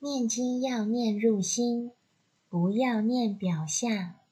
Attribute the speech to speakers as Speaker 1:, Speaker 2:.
Speaker 1: 念经要念入心，不要念表象。